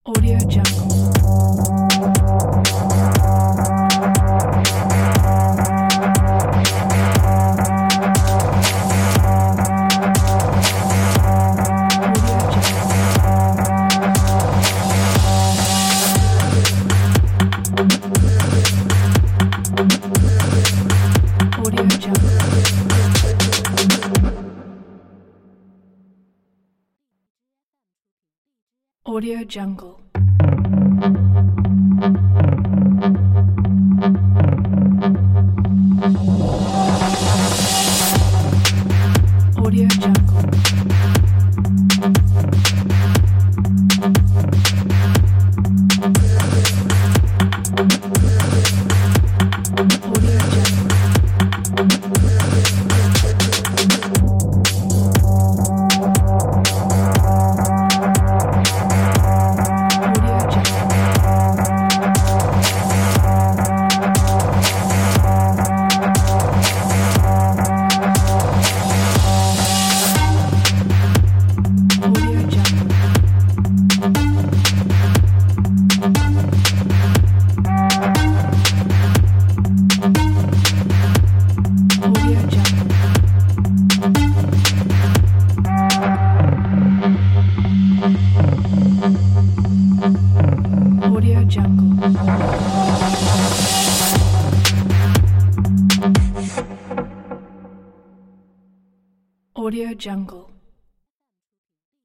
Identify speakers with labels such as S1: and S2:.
S1: Audio Jungle. Audio Jungle. Audio Jungle. Audio Jungle. Audio Jungle. Audio Jungle. Audio Jungle. Audio Jungle. Audio Jungle. Audio Jungle.